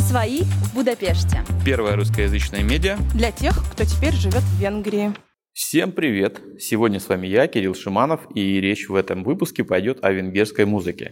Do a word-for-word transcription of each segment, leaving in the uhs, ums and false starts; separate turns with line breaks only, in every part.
Свои в Будапеште.
Первое русскоязычное медиа
для тех, кто теперь живет в Венгрии.
Всем привет! Сегодня с вами я, Кирилл Шиманов, и речь в этом выпуске пойдет о венгерской музыке.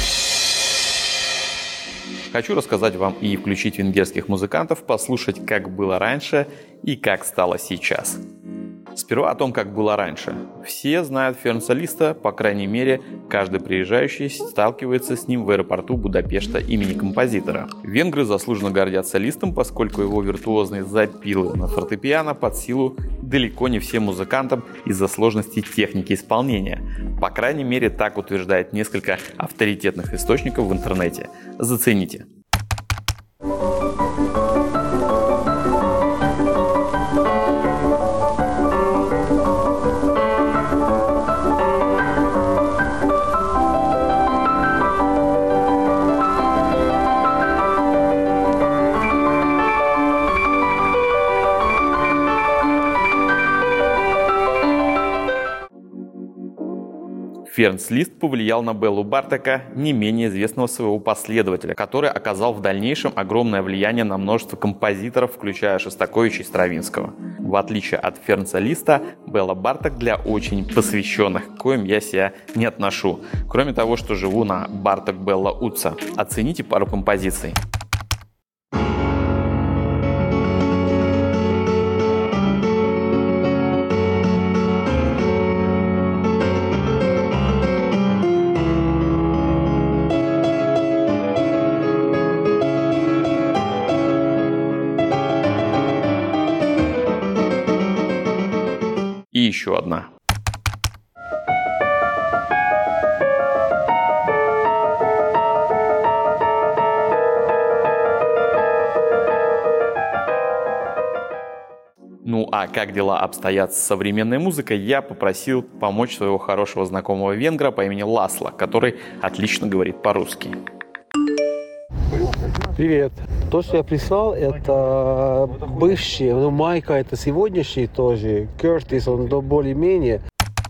Хочу рассказать вам и включить венгерских музыкантов, послушать, как было раньше и как стало сейчас. Сперва о том, как было раньше. Все знают Ференца Листа, по крайней мере, каждый приезжающий сталкивается с ним в аэропорту Будапешта имени композитора. Венгры заслуженно гордятся Листом, поскольку его виртуозные запилы на фортепиано под силу далеко не всем музыкантам из-за сложности техники исполнения. По крайней мере, так утверждает несколько авторитетных источников в интернете. Зацените. Ференц Лист повлиял на Беллу Бартока, не менее известного своего последователя, который оказал в дальнейшем огромное влияние на множество композиторов, включая Шостаковича и Стравинского. В отличие от Ференца Листа, Белла Барток для очень посвященных, к коим я себя не отношу, кроме того, что живу на Барток Белла Утса. Оцените пару композиций. И еще одна. Ну а как дела обстоят с современной музыкой, я попросил помочь своего хорошего знакомого венгра по имени Ласло, который отлично говорит по-русски.
Привет. То, что я прислал, это бывший, ну, Майка, это сегодняшний тоже, Кертис, он до более-менее.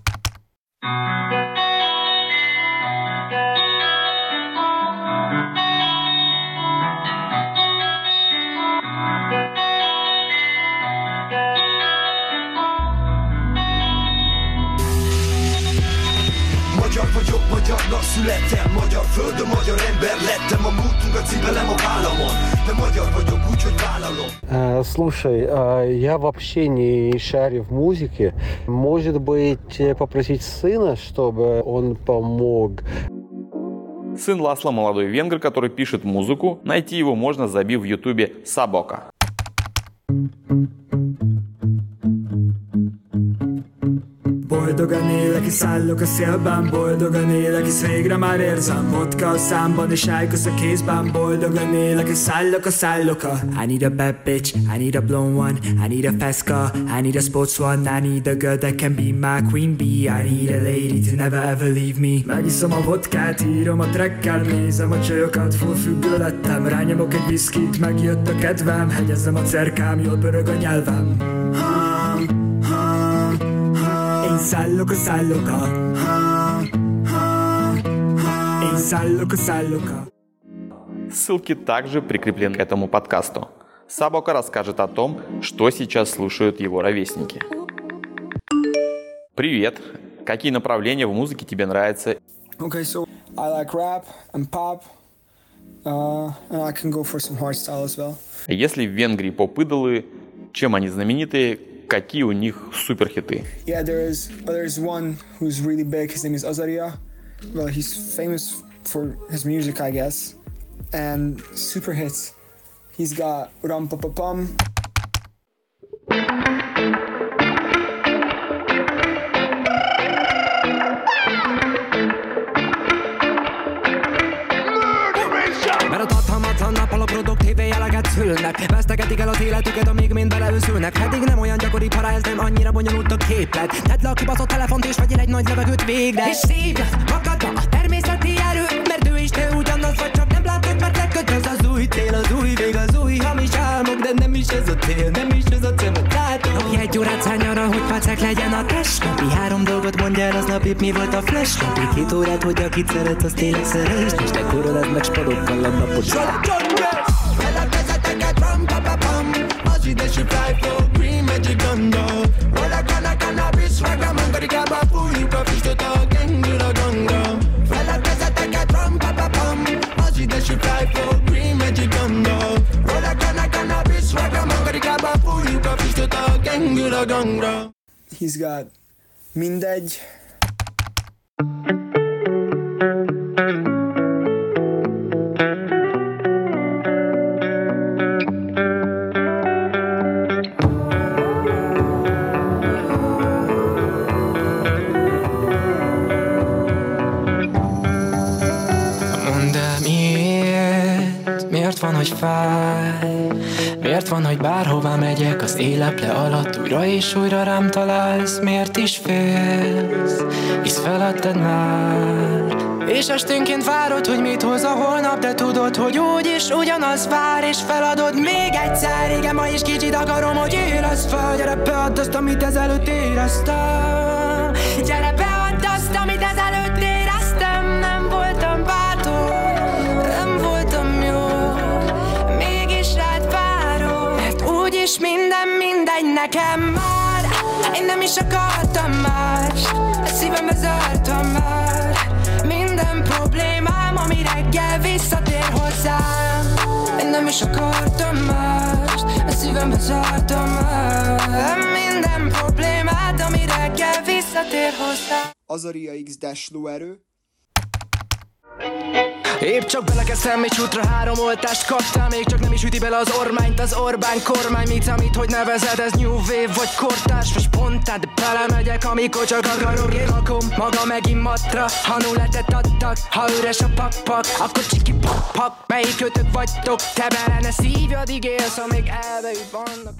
Magyar vagyok, magyarnak születtem, magyar földön, magyar ember lettem, a múltunkat cipelem a vállamon, de magyar vagyok úgy, hogy vállalom.
Слушай, я вообще не шарю в музыке. Может быть, попросить сына, чтобы он помог?
Сын Ласло – молодой венгр, который пишет музыку. Найти его можно, забив в ютубе «Szaboka».
Boldogan élek, és szállok a szélben, boldogan élek, és végre már érzem vodka a számban, és ájkosz a kézben. Boldogan élek, és szállok a szállok a I need a bad bitch, I need a blonde one, I need a fast car, I need a sports one, I need a girl that can be my queen bee, I need a lady to never ever leave me. Megiszom a vodkát, írom a trackkel, nézem a csajokat, full függő lettem, rányomok egy viszkit, megjött a kedvem, hegyezem a cerkám, jól pörög a nyelvem. Szállok a szálloka, эй, szállok a szálloka.
Ссылки также прикреплены к этому подкасту. Szaboka расскажет о том, что сейчас слушают его ровесники. Привет! Какие направления в музыке тебе нравятся?
Okay, so I like rap and pop, uh, and I can go for some hardstyle as well.
Если в Венгрии поп-идолы, чем они знамениты? Какие у них суперхиты?
Yeah, there is there is one who's really big. His name is Azaria. Well, he's famous for his music, I guess, and super hits. He's got Ram Pa Pa Pum. Szülnek, vesztegetik el az életüket, amíg mind beleőszülnek. Eddig nem olyan gyakori para, ez nem annyira bonyolult a képlet. Tedd le a kibaszott telefont és vegyél egy nagy levegőt végre. És szívd magadba a természeti erő, mert ő is te ugyanaz vagy, csak nem látod, mert lekötöz az új tél, az új vég, az új hamis álmok. De nem is ez a cél, nem is ez a cél, mert látom. Napi egy órát szállj arra, hogy pacek legyen a test. Napi három dolgot mondja el, aznap épp mi volt a flash. Napi két órát, hogy akit szeret, az tényleg szerest. És te koroled meg spadokkal a napot.
a gangra.
He's got mindegy.
Miért van, hogy fáj? Miért van, hogy bárhová megyek az éleple alatt újra és újra rám találsz? Miért is félsz? Hisz feladtad már. És esténként várod, hogy mit hoz a holnap, de tudod, hogy úgyis ugyanaz vár, és feladod még egyszer. Igen, ma is kicsit akarom, hogy érezd fel. Gyere, beadd azt, amit ezelőtt éreztem. Gyere, beadd azt, amit ezelőtt éreztem. Nem voltam bátor, nem voltam jó, mégis rád várok, mert úgyis minden mindegy nekem már. Én nem is akartam más, a szívembe zártam már minden problémám, ami reggel visszatér hozzám. Én nem is akartam más, a szívembe zártam már minden problémát, ami reggel visszatér hozzám.
Azaria X lóerő.
Épp csak belekezdtem egy útra, három oltást kaptam, még csak nem is üti bele az ormányt az Orbán kormány. Mit számít, hogy nevezed, ez New Wave vagy kortárs vagy spontán, de belemegyek, amikor csak akarok. Én lakom maga megint matra, ha nulletet adtak, ha üres a pak-pak, akkor csiki pak-pak. Melyik kötök vagytok, te bele szívjad, ígérsz, amíg elbeüt vannak.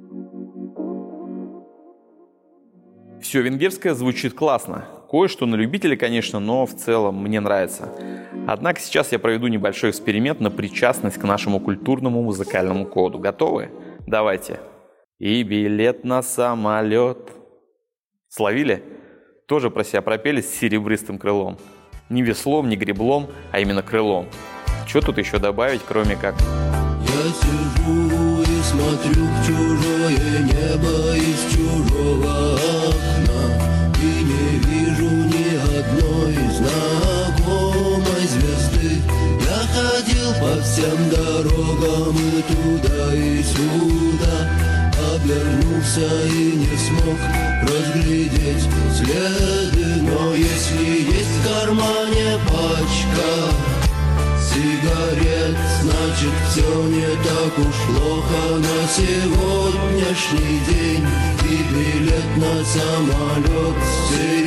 Все венгерское звучит классно. Кое-что на любителя, конечно, но в целом мне нравится. Однако сейчас я проведу небольшой эксперимент на причастность к нашему культурному музыкальному коду. Готовы? Давайте. И билет на самолет. Словили? Тоже про себя пропели с серебристым крылом. Не веслом, не греблом, а именно крылом. Что тут еще добавить, кроме как...
Я сижу и смотрю в чужое небо из чужого окна, и не вижу ни одной знакомой звезды. Я ходил по всем дорогам и туда, и сюда, обернулся и не смог разглядеть следы. Но если есть в кармане пачка сигарет, значит все не так уж плохо на сегодняшний день. И билет на самолет.